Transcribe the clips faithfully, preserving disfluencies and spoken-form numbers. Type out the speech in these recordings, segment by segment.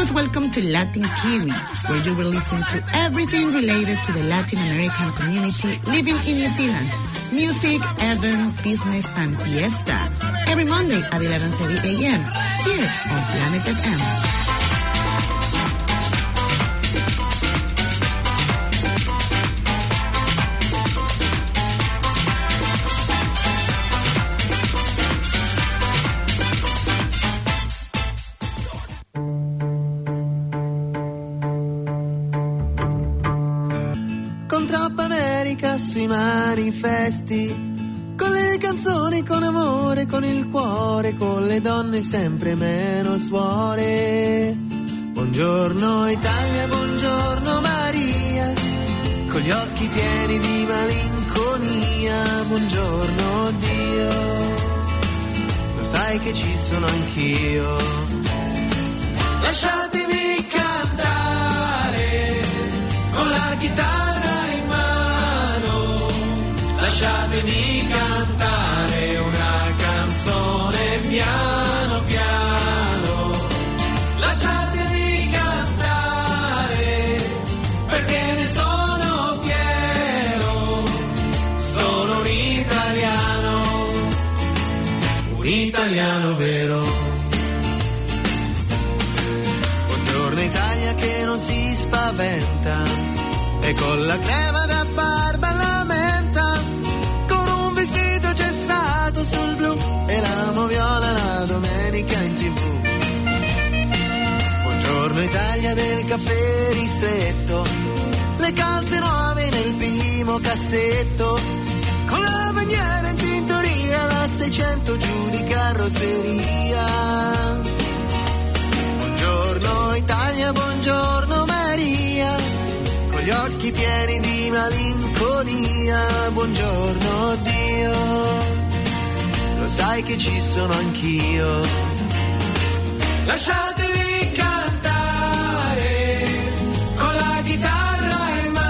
Most welcome to Latin Kiwi, where you will listen to everything related to the Latin American community living in New Zealand. Music, event, business, and fiesta. Every Monday at eleven thirty a.m. here on Planet F M. Si manifesti con le canzoni, con amore, con il cuore, con le donne sempre meno suore. Buongiorno Italia, buongiorno Maria, con gli occhi pieni di malinconia. Buongiorno Dio, lo sai che ci sono anch'io. Lasciatemi cantare con la chitarra, lasciatemi cantare una canzone piano piano, lasciatemi cantare perché ne sono fiero, sono un italiano, un italiano vero. Buongiorno Italia che non si spaventa e con la crema da barba la menta, sul blu e l'amo viola la domenica in tv. Buongiorno Italia del caffè ristretto, le calze nuove nel primo cassetto, con la bandiera in tintoria, la seicento giù di carrozzeria. Buongiorno Italia, buongiorno Maria, con gli occhi pieni di malinconia. Buongiorno Dio, sai che ci sono anch'io. Lasciatemi cantare con la chitarra in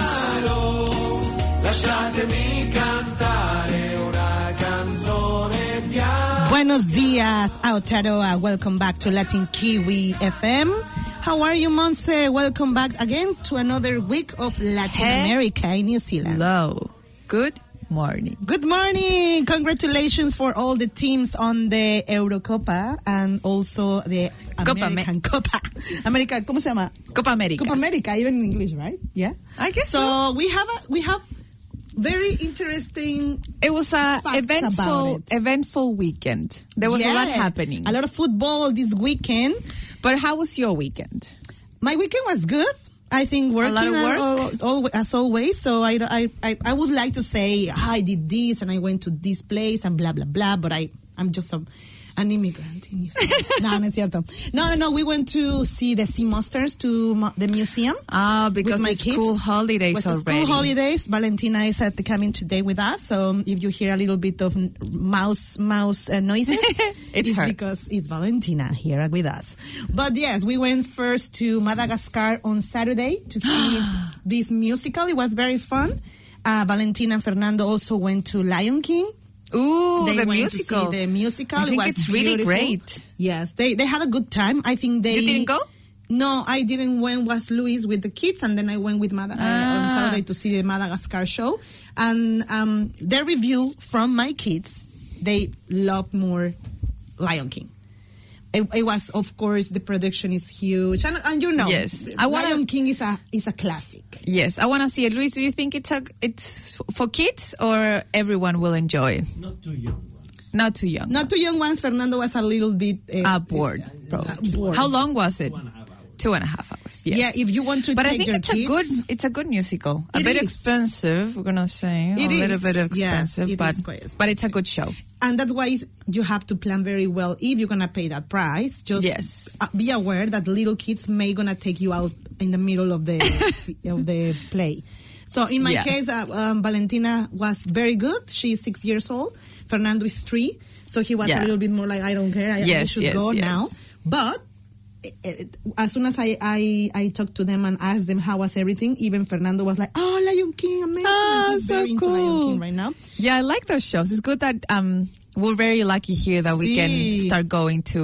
mano, lasciatemi cantare una canzone piano. Buenos dias, Aotearoa. Welcome back to Latin Kiwi F M. How are you, Monse? Welcome back again to another week of Latin hey. America in New Zealand. Hello. Good morning. Good morning. Congratulations for all the teams on the Eurocopa and also the Copa American Copa. America, ¿cómo se llama? Copa America. Copa America, even in English, right? Yeah. I guess so. So we have a, we have very interesting. It was a eventful eventful weekend. There was yeah. a lot happening. A lot of football this weekend. But how was your weekend? My weekend was good. I think working a lot of work? All, all, as always. So I, I, I, I would like to say, oh, I did this and I went to this place and blah, blah, blah. But I, I'm just a, an immigrant in New Zealand. No, no es cierto. No, no, no. We went to see the sea monsters to mo- the museum. Ah, because my it's kids. school holidays It's already. School holidays. Valentina is at the coming today with us. So if you hear a little bit of mouse mouse uh, noises, it's, it's her. because it's Valentina here with us. But yes, we went first to Madagascar on Saturday to see this musical. It was very fun. Uh, Valentina and Fernando also went to Lion King. Ooh, they the went musical. To see the musical. I think it was it's really beautiful. great. Yes, they they had a good time. I think they. You didn't go? No, I didn't. When was Luis with the kids, and then I went with Mad- ah. uh, on Saturday to see the Madagascar show. And um, their review from my kids, they loved more Lion King. It, it was, of course, the production is huge, and, and you know, yes, I wanna, Lion King is a is a classic. Yes, I want to see it. Luis, do you think it's a it's for kids or everyone will enjoy it? Not too young. Not too young. Not too young ones. Fernando was a little bit uh, uh, bored. Uh, bored. How long was it? Two and a half hours. Two and a half hours. Yes. Yeah, if you want to, but take I think your it's kids, a good. It's a good musical. A it bit is. expensive. We're gonna say it a is. little bit expensive, yes, it but is quite expensive. but it's a good show. And that's why you have to plan very well if you're gonna pay that price. Just yes. be aware that little kids may gonna take you out in the middle of the of the play. So in my yeah. case, uh, um, Valentina was very good. She's six years old. Fernando is three. So he was yeah. a little bit more like, I don't care. I, yes, I should yes, go yes. now. But it, it, as soon as I, I, I talked to them and asked them how was everything, even Fernando was like, oh, Lion King, amazing. Oh, He's so very cool. into Lion King right now. Yeah, I like those shows. It's good that um, we're very lucky here that we Sí. can start going to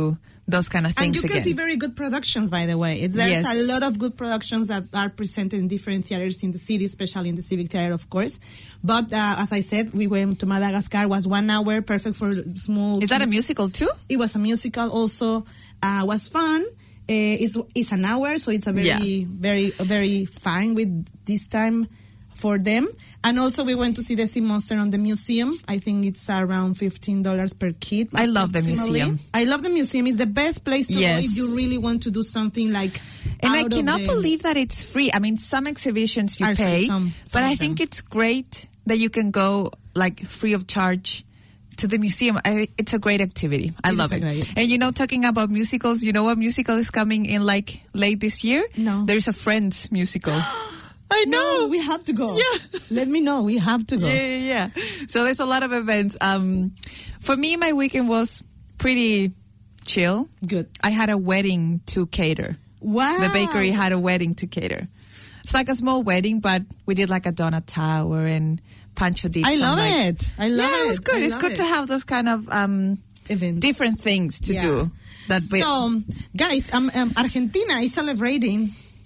those kind of And things you can again. see very good productions, by the way. It- There's Yes. a lot of good productions that are presented in different theaters in the city, especially in the Civic Theater, of course. But uh, as I said, we went to Madagascar. Was one hour, perfect for small. Is that a kids. musical too? It was a musical also. Uh, was fun. Uh, it's, it's an hour, so it's a very, Yeah. very, very fine with this time for them. And also we went to see the Sea Monster on the museum. I think it's around fifteen dollars per kid. I love the approximately. museum. I love the museum. It's the best place to Yes. go if you really want to do something like And I out of cannot the- believe that it's free. I mean, some exhibitions you Are free, pay, some- some but I of think them. it's great that you can go like free of charge to the museum. I, it's a great activity. I It is love a it. great- And you know, talking about musicals, you know what musical is coming in like late this year? No. There's a Friends musical. I know. No, we have to go. Yeah. Let me know. We have to go. Yeah, yeah, yeah. So there's a lot of events. Um, for me, my weekend was pretty chill. Good. I had a wedding to cater. Wow. The bakery had a wedding to cater. It's like a small wedding, but we did like a donut tower and Pancho did I some, love like- it. I love yeah, it. it was good. I It's love good it. to have those kind of um, Events. different things to Yeah. do. That we- So, guys, um, um, Argentina is celebrating.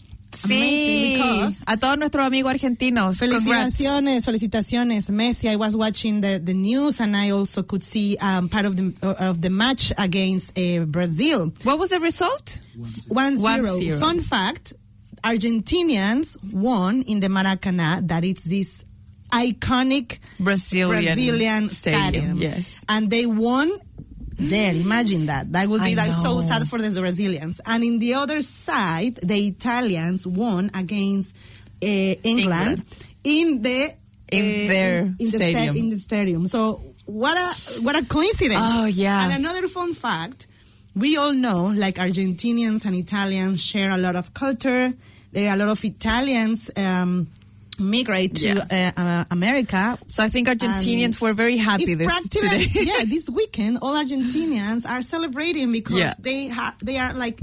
sí, amazing because- a todos nuestros amigos argentinos. Congrats. Felicitaciones, felicitaciones, Messi. I was watching the, the news and I also could see um, part of the of the match against uh, Brazil. What was the result? One One zero. zero. Fun fact: Argentinians won in the Maracanã. That it's this iconic Brazilian, Brazilian stadium. stadium. Yes. And they won there. Imagine that. That would be I like so know. sad for the Brazilians. And in the other side, the Italians won against uh, England, England. in the In uh, their in, in the stadium. in the stadium. So what a what a coincidence. Oh, yeah. And another fun fact, we all know like Argentinians and Italians share a lot of culture. There are a lot of Italians um, migrate to Yeah. uh, uh, America. So I think Argentinians And were very happy It's this practically today. yeah. This weekend, all Argentinians are celebrating because Yeah. they ha- they are like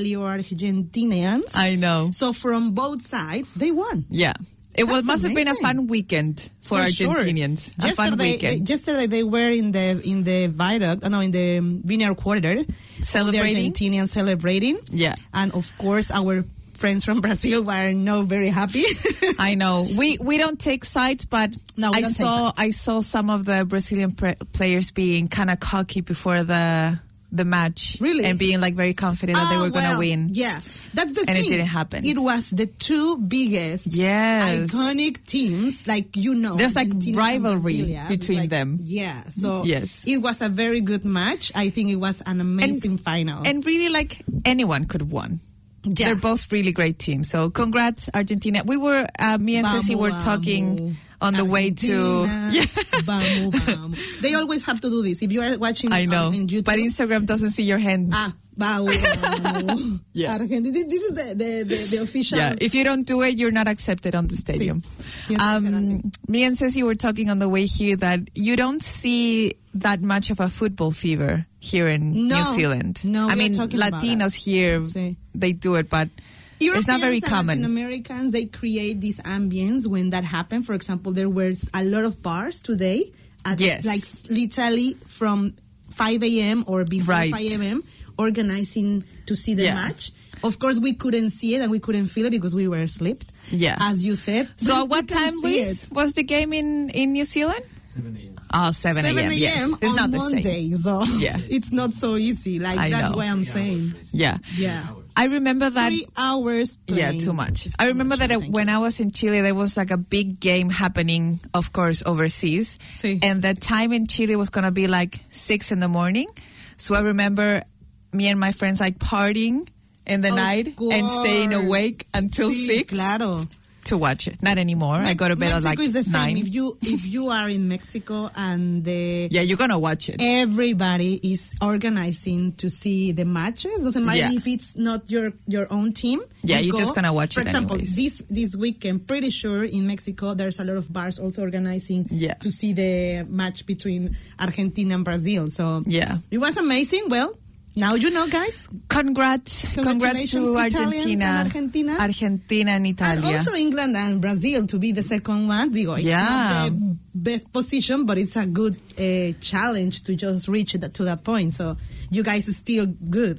Italo-Argentinians. I know. So from both sides, they won. Yeah. It was, That's must have been a amazing. fun weekend for, sure. Argentinians. A fun Yesterday- weekend. They, yesterday they were in the in the viaduct, uh, no, in the um, Vineyard Quarter, Celebrating? all the Argentinians celebrating. Yeah. And of course, our friends from Brazil were not very happy. I know. We we don't take sides, but No, we I don't take saw sides. I saw some of the Brazilian pre- players being kind of cocky before the the match, Really? and being like very confident that they Ah, were going to well, win. Yeah, that's the And it thing. didn't happen. It was the two biggest, Yes. iconic teams. Like you know, There's, like, Argentina and rivalry Brasilia. between Like, them. Yeah, so Yes. it was a very good match. I think it was an amazing final. And really, like anyone could have won. Yeah. They're both really great teams. So congrats, Argentina. We were uh, me and Ceci Vamos, were talking vamos. on the way to. Argentina, vamos, vamos. They always have to do this. If you are watching, I know, on, in YouTube, but Instagram doesn't see your hand. ah, vamos, vamos. Yeah. Argentina. This is the the, the, the official. Yeah, if you don't do it, you're not accepted on the stadium. Tienes que ser Um, así. me and Ceci were talking on the way here that you don't see that much of a football fever here in No. New Zealand. No, I we are mean, talking about Latinos that. here, Sí. they do it, but Europeans it's not very and common. Latin Americans, they create this ambience when that happened. For example, there were a lot of bars today, at Yes. like literally from five a.m. or before Right. five a.m. organizing to see the Yeah. match. Of course, we couldn't see it and we couldn't feel it because we were asleep. Yeah. As you said. So But at what we can time, see Luis, it. was the game in, in New Zealand? seven a.m. Oh, seven a.m. seven Yes. a.m. It's on not the Monday, same. so Yeah. it's not so easy. Like I that's know. why I'm Three saying. hours, basically. Yeah. Yeah. I remember that. Three hours. Yeah, playing. too much. It's I too remember much, that thank when you. I was in Chile, there was like a big game happening, of course, overseas. Sí. And the time in Chile was going to be like six in the morning. So I remember me and my friends like partying in the Of night and staying course. awake until Sí, six Claro. to watch it. Not anymore. I go to bed Mexico at like is the same. nine. If you if you are in Mexico and the Yeah, you're going to watch it. everybody is organizing to see the matches, doesn't matter Yeah. if it's not your your own team. Yeah, you you're just go. gonna watch For it example, anyways. this this weekend, pretty sure in Mexico there's a lot of bars also organizing Yeah. to see the match between Argentina and Brazil. So Yeah. it was amazing. Well, now you know, guys. Congrats. Congrats Congratulations, to Italians Argentina. and Argentina. Argentina and And Italia. also England and Brazil to be the second one. Digo, it's Yeah. not the best position, but it's a good uh, challenge to just reach that, to that point. So you guys are still good.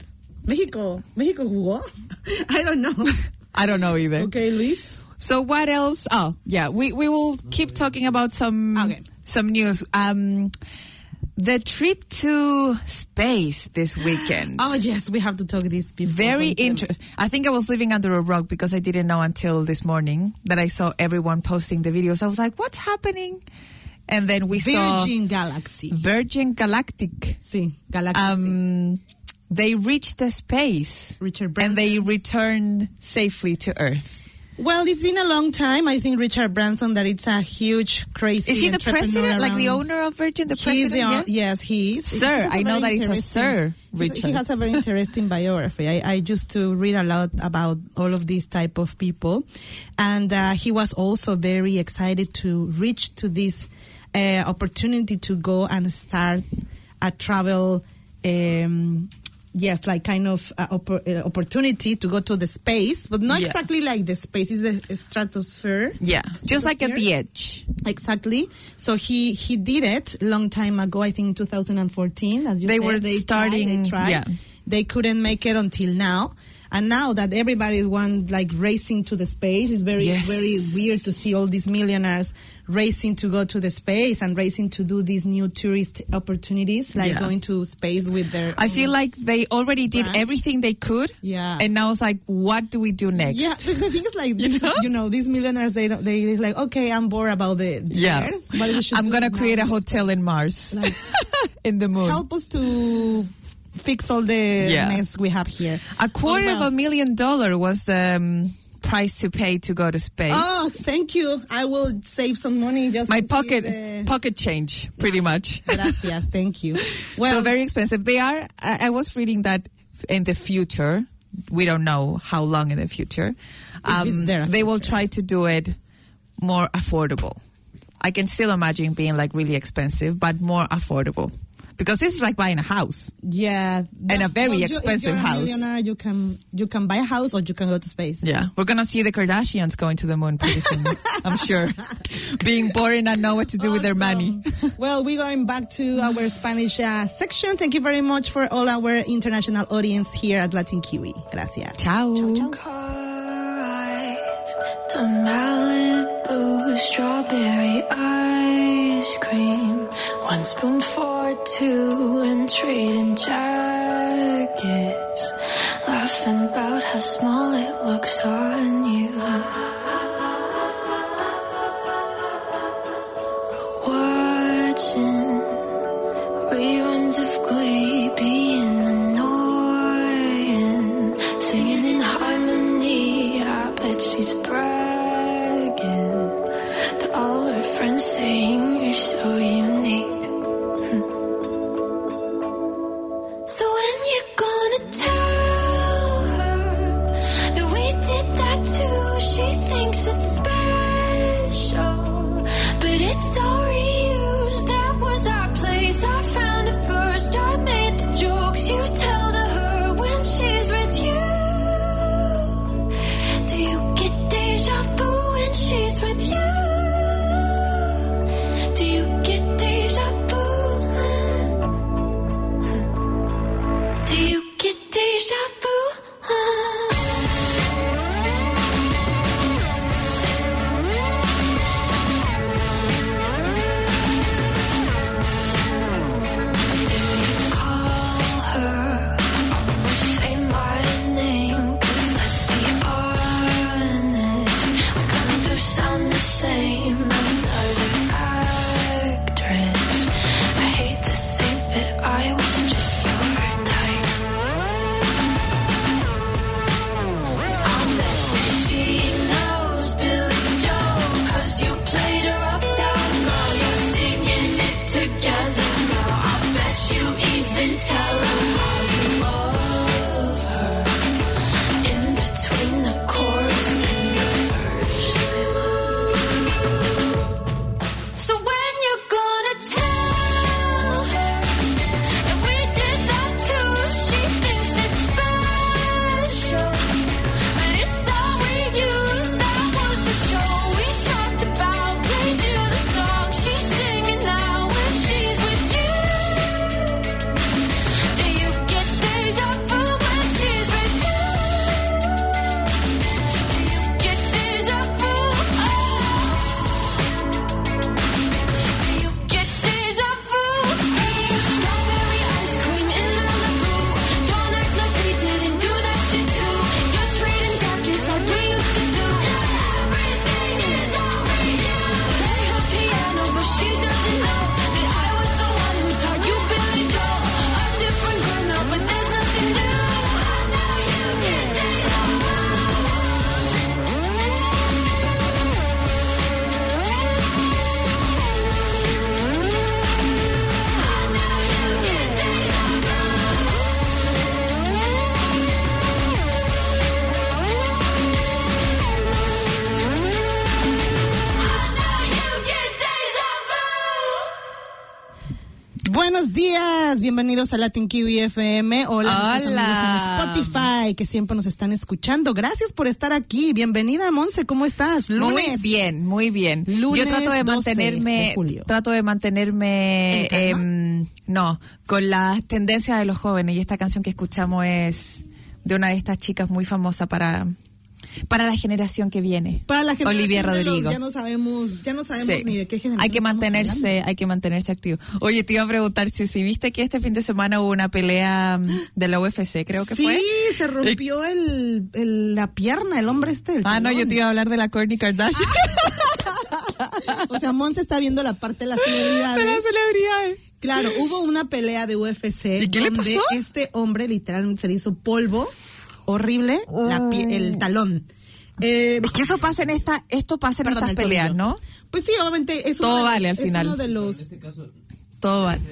Mexico. Mexico jugó? I don't know. I don't know either. Okay, Luis. So what else? Oh, yeah, we, we will keep talking about some Okay. some news. Um, the trip to space this weekend. Oh, yes, we have to talk this before. Very Consuelo. interesting. I think I was living under a rock because I didn't know until this morning that I saw everyone posting the videos. I was like, what's happening? And then we saw Virgin Galaxy. Virgin Galactic. Sí, Galaxy. Um, they reached the space Richard and Branson. they returned safely to Earth. Well, it's been a long time. I think Richard Branson, that it's a huge, crazy Is he the entrepreneur president, like the around- owner of Virgin? The He's president? the, yeah? Yes, he is. Sir, He has a I know very that it's a interesting- Sir he's- Richard. He has a very interesting biography. I, I used to read a lot about all of these type of people. And uh, he was also very excited to reach to this uh, opportunity to go and start a travel um Yes, like kind of uh, oppor- uh, opportunity to go to the space, but not Yeah. exactly like the space. It's the stratosphere. Yeah, just like at Here? the edge. Exactly. So he he did it a long time ago. I think in two thousand fourteen. As you They said, were they starting- Tried, they tried. yeah. They couldn't make it until now. And now that everybody wants like racing to the space, it's very Yes. very weird to see all these millionaires racing to go to the space and racing to do these new tourist opportunities, like Yeah. going to space with their. I feel like they already did brands. everything they could. Yeah. And now it's like, what do we do next? Yeah, the the thing is like You you know? know, you know these millionaires they don't, they they're like, okay, I'm bored about the, the Yeah. Earth, but we should I'm do going to it create now a in the hotel in Mars. Like, in the moon. help us to fix all the Yeah. mess we have here. A quarter Oh, well. of a million dollar was the um, price to pay to go to space. Oh, thank you. I will save some money just My to see pocket the- pocket change, pretty much. Gracias, thank you. Well, so very expensive. They are. I, I was reading that in the future. We don't know how long in the future. Um, it's there, they will future. try to do it more affordable. I can still imagine being like really expensive, but more affordable. Because this is like buying a house. yeah, And a very well, you- expensive if you're a house. millionaire, you can you can buy a house or you can go to space. Yeah. We're going to see the Kardashians going to the moon pretty soon, I'm sure. Being boring and know what to do with their money. Awesome. Well, we're going back to our Spanish uh, section. Thank you very much for all our international audience here at Latin Kiwi. Gracias. Ciao. Car ride to Malibu, strawberry ice cream, one spoon for two, and trading jackets, laughing about how small it looks on you. Watching reruns of Glee, being annoying, singing in harmony. I bet she's bragging to all her friends, saying you're so unique. So when you gonna tell her that we did that too? She thinks it's special, but it's all reused. That was our place. I found it first. I made the jokes you tell to her when she's with you. Do you get deja vu when she's with you? Do you get deja vu? Do you get deja vu? Do you call her? Almost say my name, 'cause let's be honest, we kinda do sound the same. Another actress. I hate to think that I was just your type. I'll bet that she knows Billy Joel, 'cause you played her uptown girl. You're singing it together, girl. I bet you even tell her how you love her in between the chorus and the verse. So when you're gonna tell her that we did that too? She thinks it's special, but it's all we use. That was the show we talked about. Played you the song she's singing now when she's with you. Do estás? Bienvenidos a Latin Kiwi F M. Hola, nuestros Hola. amigos en Spotify que siempre nos están escuchando. Gracias por estar aquí. Bienvenida, Monse. ¿Cómo estás? Lunes. Muy bien, muy bien. Lunes Yo trato de mantenerme, doce de julio. trato de mantenerme, ¿En calma? em, no, con las tendencias de los jóvenes. Y esta canción que escuchamos es de una de estas chicas muy famosa para, para la generación que viene. Para la generación Olivia de los- Rodrigo. ya no sabemos, ya no sabemos Sí. ni de qué generación Hay que estamos mantenerse, hablando. hay que mantenerse activo. Oye, te iba a preguntar si, si viste que este fin de semana hubo una pelea mm, de la U F C, creo que sí, fue. se rompió el, el- la pierna, el hombre este. El Ah, no, talón. yo te iba a hablar de la Kourtney Kardashian. O sea, Monse está viendo la parte de las celebridades. de las celebridades. Claro, hubo una pelea de U F C ¿Y qué le donde pasó? este hombre literalmente se le hizo polvo horrible la pie- el talón. Eh, Es que eso pasa en esta, esto pasa en perdón, estas el peleas, tobillo. ¿no? Pues sí, obviamente es Todo uno de vale los, al final. Es uno de los. Todo vale.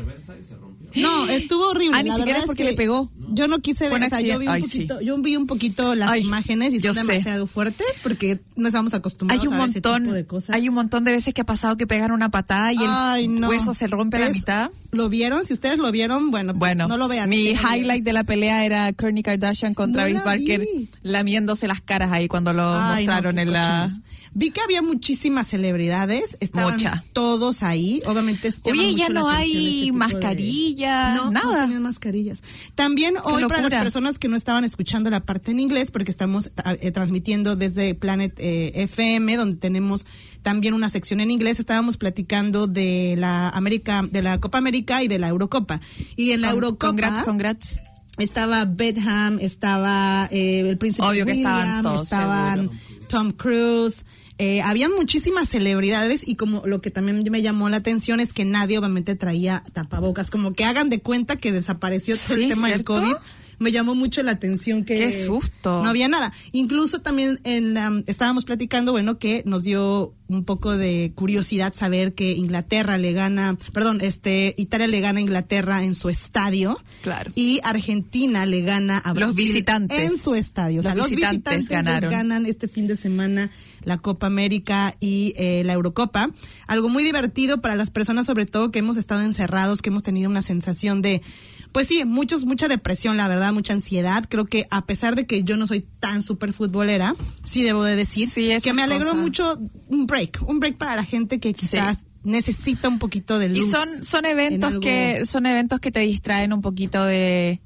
No, estuvo horrible. Ah, ni la siquiera verdad es porque que le pegó. Yo no quise Fue ver, un o sea, yo vi un accidente. Ay, sí. poquito, yo vi un poquito las Ay, imágenes y yo son sé. demasiado fuertes porque no estamos acostumbrados Hay un a ver ese tipo montón, de cosas. hay un montón de veces que ha pasado que pegan una patada y el Ay, no. hueso se rompe a la Es- mitad. ¿Lo vieron? Si ustedes lo vieron, bueno, pues Bueno, no lo vean. mi Sí, lo vieron. highlight de la pelea era Kourtney Kardashian con No Travis la Barker vi. lamiéndose las caras ahí cuando lo Ay, no, mostraron qué en la... cochinos. Vi que había muchísimas celebridades, estaban Mucha. todos ahí, obviamente. es- llama Oye, mucho ya la no atención hay este tipo de- mascarilla, No, nada. no tenían mascarillas. También hoy para locura. las personas que no estaban escuchando la parte en inglés, porque estamos eh, transmitiendo desde Planet eh, F M, donde tenemos también una sección en inglés, estábamos platicando de la América, de la Copa América y de la Eurocopa. Y en la Con- Eurocopa Congrats, congrats. estaba Beckham, estaba eh, el príncipe Obvio que William, estaban todos, estaban seguro. Tom Cruise, eh, había muchísimas celebridades y como lo que también me llamó la atención es que nadie obviamente traía tapabocas, como que hagan de cuenta que desapareció todo Sí, el tema del ¿cierto? COVID. Me llamó mucho la atención que ¡Qué susto! no había nada. Incluso también en la- estábamos platicando, bueno, que nos dio un poco de curiosidad saber que Inglaterra le gana, perdón, este Italia le gana a Inglaterra en su estadio. Claro. Y Argentina le gana a Los Brasil visitantes. en su estadio. O sea, Los los visitantes visitantes, les ganaron. ganan este fin de semana la Copa América y eh, la Eurocopa. Algo muy divertido para las personas, sobre todo que hemos estado encerrados, que hemos tenido una sensación de, pues sí, muchos, mucha depresión, la verdad, mucha ansiedad. Creo que a pesar de que yo no soy tan súper futbolera, sí debo de decir Sí, esas que me alegró cosas. mucho un break, un break para la gente que quizás necesita un poquito de luz. Y son, son en eventos algo- que, son eventos que te distraen un poquito de,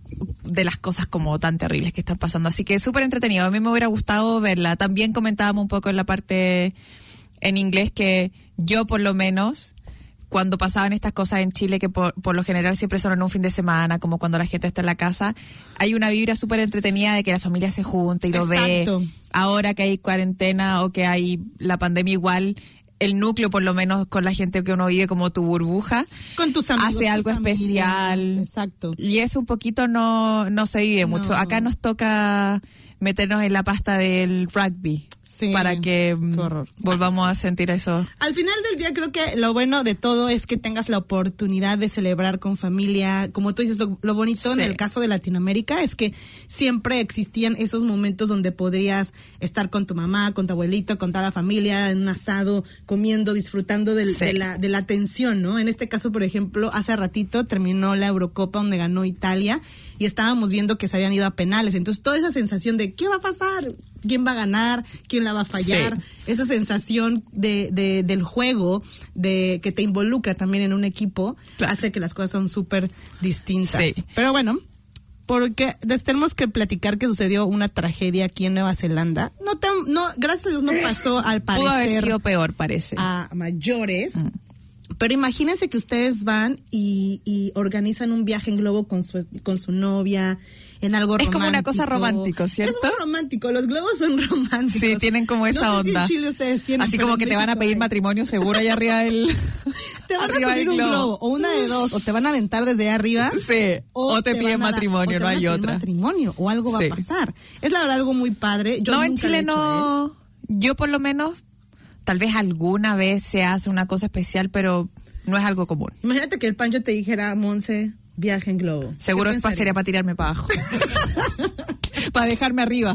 de las cosas como tan terribles que están pasando. Así que súper entretenido. A mí me hubiera gustado verla. También comentábamos un poco en la parte en inglés que yo por lo menos, cuando pasaban estas cosas en Chile, que por, por lo general siempre son en un fin de semana, como cuando la gente está en la casa, hay una vibra súper entretenida de que la familia se junta y lo Exacto. ve. Ahora que hay cuarentena o que hay la pandemia igual, el núcleo por lo menos con la gente que uno vive como tu burbuja, con tus amigos, hace tu algo familia. especial. Exacto. Y eso un poquito no, no se vive mucho. No. Acá nos toca meternos en la pasta del rugby Sí, para que mm, qué horror. volvamos a sentir eso. Al final del día creo que lo bueno de todo es que tengas la oportunidad de celebrar con familia. Como tú dices, lo, lo bonito Sí. en el caso de Latinoamérica es que siempre existían esos momentos donde podrías estar con tu mamá, con tu abuelito, con toda la familia, en un asado, comiendo, disfrutando del- Sí. de, la, de la atención, ¿no? En este caso, por ejemplo, hace ratito terminó la Eurocopa donde ganó Italia y estábamos viendo que se habían ido a penales. Entonces, toda esa sensación de ¿qué va a pasar? ¿Quién va a ganar? ¿Quién la va a fallar? Sí. Esa sensación de, de del juego, de que te involucra también en un equipo, Claro. hace que las cosas son súper distintas. Sí. Pero bueno, porque de- tenemos que platicar que sucedió una tragedia aquí en Nueva Zelanda. No, te, no gracias a Dios no pasó al Pudo haber parecer sido peor, parece. a mayores. Pero imagínense que ustedes van y, y organizan un viaje en globo con su, con su novia, en algo Es romántico. como una cosa romántico, ¿cierto? Es muy romántico, los globos son románticos. Sí, tienen como esa no sé si onda. en Chile ustedes tienen, Así pero como en que te van a México pedir hay. matrimonio seguro allá arriba del... Te van a arriba subir del un globo, o una de dos, o te van a aventar desde allá arriba. Sí, o te piden van a dar- matrimonio, o te no van a hay pedir otra. matrimonio, o algo va Sí. a pasar. Es la verdad algo muy padre. Yo no, en nunca lo Chile he hecho, ¿eh? no... Yo por lo menos, tal vez alguna vez se hace una cosa especial, pero no es algo común. Imagínate que el Pancho te dijera, Monse, viaje en globo. Seguro ¿Qué es pa- sería para pensarías? tirarme para abajo. Para dejarme arriba.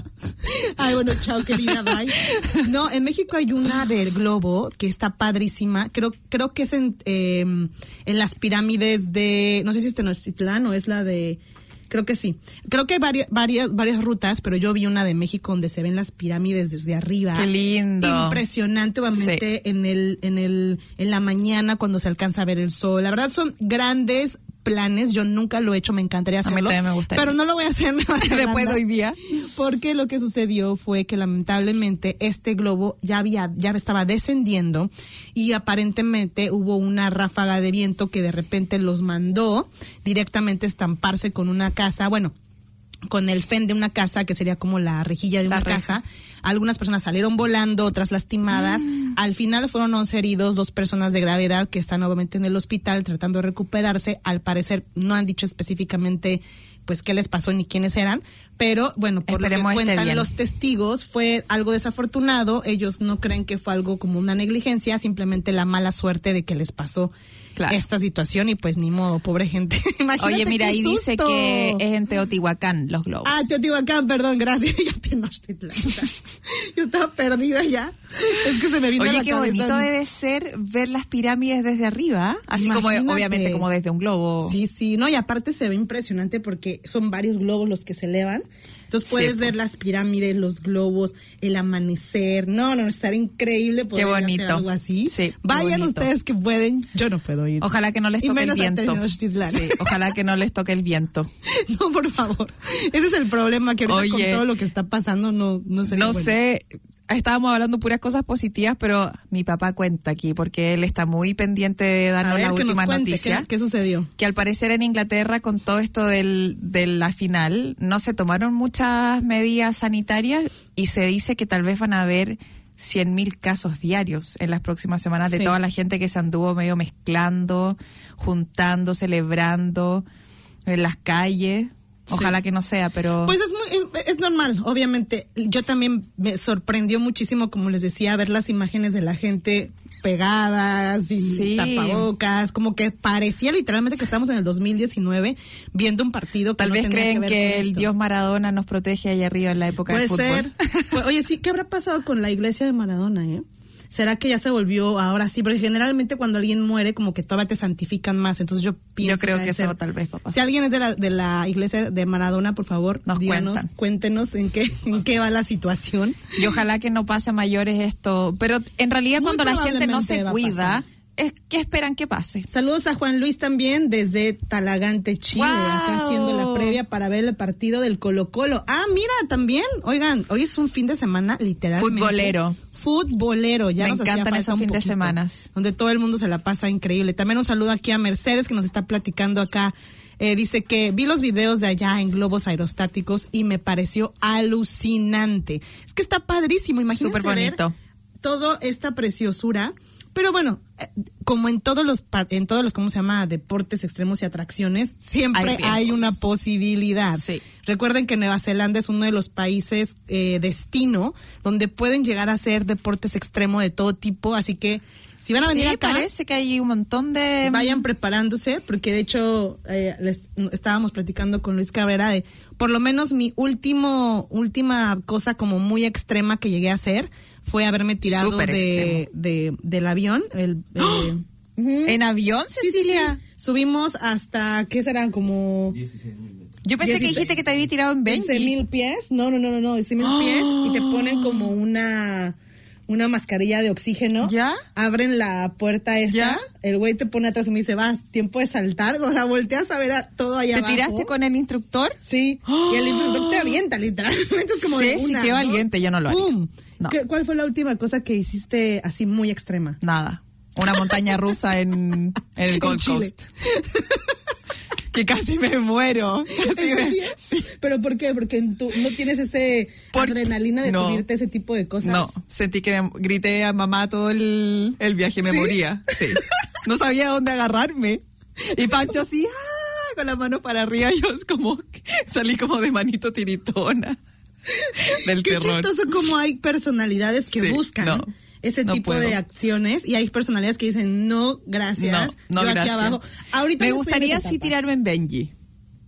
Ay, bueno, chao, querida, bye. No, en México hay una del globo que está padrísima. Creo creo que es en, eh, en las pirámides de, no sé si es Tenochtitlán o es la de, creo que sí. Creo que hay varias, varias, varias rutas, pero yo vi una de México donde se ven las pirámides desde arriba. ¡Qué lindo! Impresionante, obviamente, Sí. en el, en el, en la mañana cuando se alcanza a ver el sol. La verdad son grandes planes, yo nunca lo he hecho, me encantaría A mí hacerlo, también me gustaría. pero no lo voy a hacer Después de hoy día. porque lo que sucedió fue que lamentablemente este globo ya había ya estaba descendiendo y aparentemente hubo una ráfaga de viento que de repente los mandó directamente a estamparse con una casa, bueno, con el fen de una casa que sería como la rejilla de La una reja. casa. Algunas personas salieron volando, otras lastimadas. Mm. Al final fueron once heridos, dos personas de gravedad que están obviamente en el hospital tratando de recuperarse. Al parecer no han dicho específicamente pues qué les pasó ni quiénes eran, pero bueno, por Esperemos lo que esté cuentan bien. los testigos fue algo desafortunado. Ellos no creen que fue algo como una negligencia, simplemente la mala suerte de que les pasó Claro. esta situación y pues ni modo, pobre gente. Imagínate Oye, mira, qué ahí dice susto. que es en Teotihuacán los globos. Ah, Teotihuacán, perdón, gracias. Yo Tenochtitlán. Yo estaba perdida ya. Es que se me vino a Oye, la qué cabeza. bonito debe ser ver las pirámides desde arriba, así como Imagínate. obviamente como desde un globo. Sí, sí, no, y aparte se ve impresionante porque son varios globos los que se elevan. Entonces puedes Sí, ver las pirámides, los globos, el amanecer. No, no, estará increíble poder Qué bonito. hacer algo así. Sí, qué Vayan bonito. ustedes que pueden. Yo no puedo ir. Ojalá que no les Y toque el menos a viento. Tenochtitlán. Sí, ojalá que no les toque el viento. No, por favor. Ese es el problema, que ahorita Oye, con todo lo que está pasando no, no sería No bueno. sé, estábamos hablando puras cosas positivas, pero mi papá cuenta aquí porque él está muy pendiente de A darnos ver, las que nos últimas cuente, noticias. ¿qué, qué sucedió? Que al parecer en Inglaterra con todo esto del, de la final no se tomaron muchas medidas sanitarias y se dice que tal vez van a haber cien mil casos diarios en las próximas semanas de Sí. toda la gente que se anduvo medio mezclando, juntando, celebrando en las calles. Ojalá que no sea, pero... Pues es, muy, es, es normal, obviamente. Yo también me sorprendió muchísimo, como les decía, ver las imágenes de la gente pegadas y Sí. tapabocas, como que parecía literalmente que estamos en el dos mil diecinueve viendo un partido que Tal no vez tenía creen ver que, con el esto. dios Maradona nos protege allá arriba en la época Puede del fútbol. ser. Pues, oye, sí, ¿qué habrá pasado con la iglesia de Maradona, eh? ¿Será que ya se volvió ahora sí? Porque generalmente cuando alguien muere, como que todavía te santifican más. Entonces yo pienso Yo creo ha que de eso ser. tal vez va a pasar. Si alguien es de la, de la iglesia de Maradona, por favor, Nos díganos, cuentan. cuéntenos en qué, en qué va la situación. Y ojalá que no pase a mayores esto. Pero en realidad Muy cuando la gente no probablemente se va a cuida, pasar. es ¿qué esperan que pase? Saludos a Juan Luis también desde Talagante, Chile, ¡Guau! acá haciendo la previa para ver el partido del Colo Colo. Ah, mira, también, oigan, hoy es un fin de semana literalmente. Futbolero. Futbolero, ya Me nos hacía encantan falta esos un fin de poquito, semanas. donde todo el mundo se la pasa increíble. También un saludo aquí a Mercedes que nos está platicando acá. Eh, dice que vi los videos de allá en globos aerostáticos y me pareció alucinante. Es que está padrísimo, imagínense Súper bonito. ver toda esta preciosura. Pero bueno, eh, como en todos los, pa- en todos los, ¿cómo se llama? Deportes extremos y atracciones, siempre Hay hay, riesgos. una posibilidad. Sí. Recuerden que Nueva Zelanda es uno de los países eh, destino donde pueden llegar a hacer deportes extremos de todo tipo, así que si van a venir Sí, acá, parece que hay un montón de... vayan preparándose, porque de hecho eh, les, estábamos platicando con Luis Cabrera de por lo menos mi último última cosa como muy extrema que llegué a hacer fue haberme tirado Súper de, extremo. de del avión. El, eh, ujú. ¿En avión, Sí, sí, Cecilia? sí. Subimos hasta, ¿qué serán? Como Yo pensé que dieciséis dijiste que te había tirado en quince Benji. mil pies. No, no, no, no, no, dieciséis mil pies y te ponen como una una mascarilla de oxígeno. ¿Ya? Abren la puerta esta. ¿Ya? El güey te pone atrás y me dice, vas, tiempo de saltar. O sea, volteas a ver a todo allá ¿Te abajo. tiraste con el instructor? Sí, y el instructor te avienta literalmente, es como Sí, de sí, una, qué dos, valiente, yo no lo haría. ¡pum! No. ¿Qué- ¿Cuál fue la última cosa que hiciste así muy extrema? Nada. Una montaña rusa en, en el Gold Chile. Coast. Que casi me muero. Casi ¿En me- serio? sí. ¿Pero por qué? Porque en tu- no tienes ese Por- adrenalina de no. subirte a ese tipo de cosas. No, sentí que me grité a mamá todo el, el viaje, me ¿Sí? moría. Sí. No sabía dónde agarrarme. Y Pancho así, ¡ah! Con la mano para arriba, yo es como, salí como de manito tiritona del Qué terror. chistoso como hay personalidades que Sí, buscan no, ese no tipo puedo. de acciones y hay personalidades que dicen, no, gracias, No, no, yo aquí gracias. abajo. Ahorita Me no estoy en gustaría esa sí etapa. tirarme en Benji.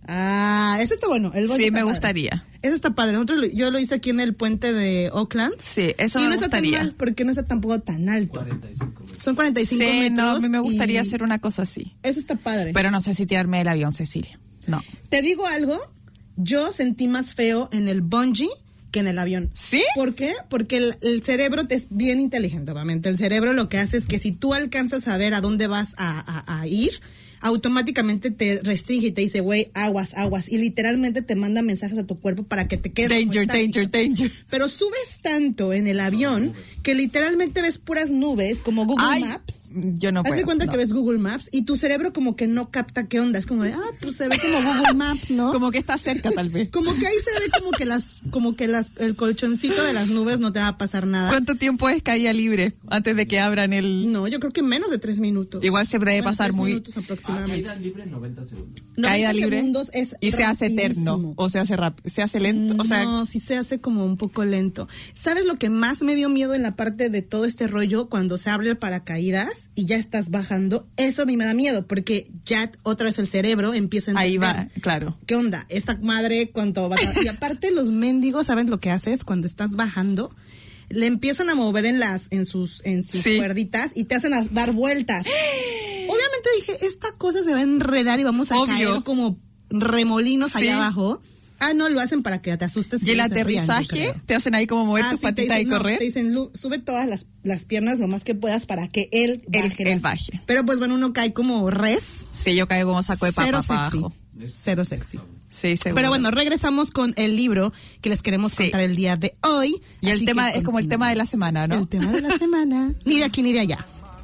Ah, ese está bueno. El bungee Sí, está me padre. gustaría. Ese está padre. Nosotros, lo- yo lo hice aquí en el puente de Oakland. Sí, eso y me no está tan gustaría. mal porque no está tampoco tan alto. Son cuarenta y cinco Sí, metros. no, a mí me gustaría y hacer una cosa así. Eso está padre. Pero no sé si tirarme del avión, Cecilia. No. Te digo algo, yo sentí más feo en el bungee que en el avión. ¿Sí? ¿Por qué? Porque el, el cerebro te es bien inteligente, obviamente. El cerebro lo que hace es que si tú alcanzas a ver a dónde vas a, a- a ir, automáticamente te restringe y te dice, güey, aguas, aguas. Y literalmente te manda mensajes a tu cuerpo para que te quedes como Danger, estático. danger, danger. Pero subes tanto en el avión que literalmente ves puras nubes como Google Ay, Maps. yo no Haz de puedo, cuenta no. que ves Google Maps y tu cerebro como que no capta qué onda. Es como de, ah, pues se ve como Google Maps, ¿no? Como que está cerca, tal vez. Como que ahí se ve como que las, como que las, el colchoncito de las nubes no te va a pasar nada. ¿Cuánto tiempo es caída libre antes de que abran el...? No, yo creo que menos de tres minutos. Igual se debe Menos de pasar tres muy- minutos aproximadamente. Caída libre noventa segundos. Caída noventa libre segundos es y se hace eterno rapidísimo. o se hace rápido, se hace lento, o sea, No, sí se hace como un poco lento. ¿Sabes lo que más me dio miedo en la parte de todo este rollo cuando se abre el paracaídas y ya estás bajando? Eso a mí me da miedo porque ya otra vez el cerebro empieza a ahí entender. va, claro. ¿Qué onda? Esta madre, ¿cuánto va a... Y aparte los mendigos, ¿saben lo que haces cuando estás bajando? Le empiezan a mover en las, en sus, en sus Sí. cuerditas y te hacen a dar vueltas. Obviamente dije, esta cosa se va a enredar y vamos a Obvio. caer como remolinos Sí. allá abajo. Ah, no, lo hacen para que te asustes. Y el ellos se rían, yo aterrizaje, creo. te hacen ahí como mover Ah, tus sí, te patitas y dicen, no, correr. te dicen, Lu, sube todas las, las piernas lo más que puedas para que él Él- baje. él las- baje. Pero pues bueno, uno cae como res. Sí, yo caigo como saco de Cero papa para sexy. abajo. Cero sexy. Sí, seguro. Pero bueno, regresamos con el libro que les queremos Sí. contar el día de hoy. Y el Así tema que es como el tema de la semana, ¿no? El tema de la semana. Ni de aquí ni de allá.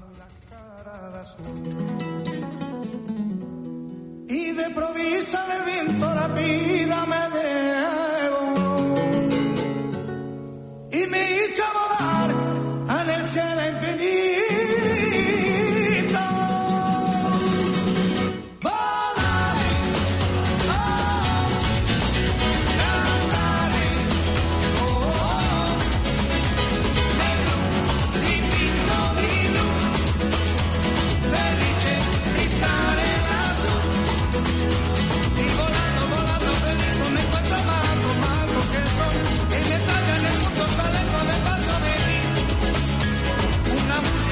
Y de provisa el viento rápida me llevó y me hizo volar en el cielo infinito. Volaré, oh, cantaré, oh, oh, divino, divino, felice di stare lassù. Y volando, volando feliz me encuentro mago, mago que soy. Y me traga en el mundo, sale con el paso de mí. Una música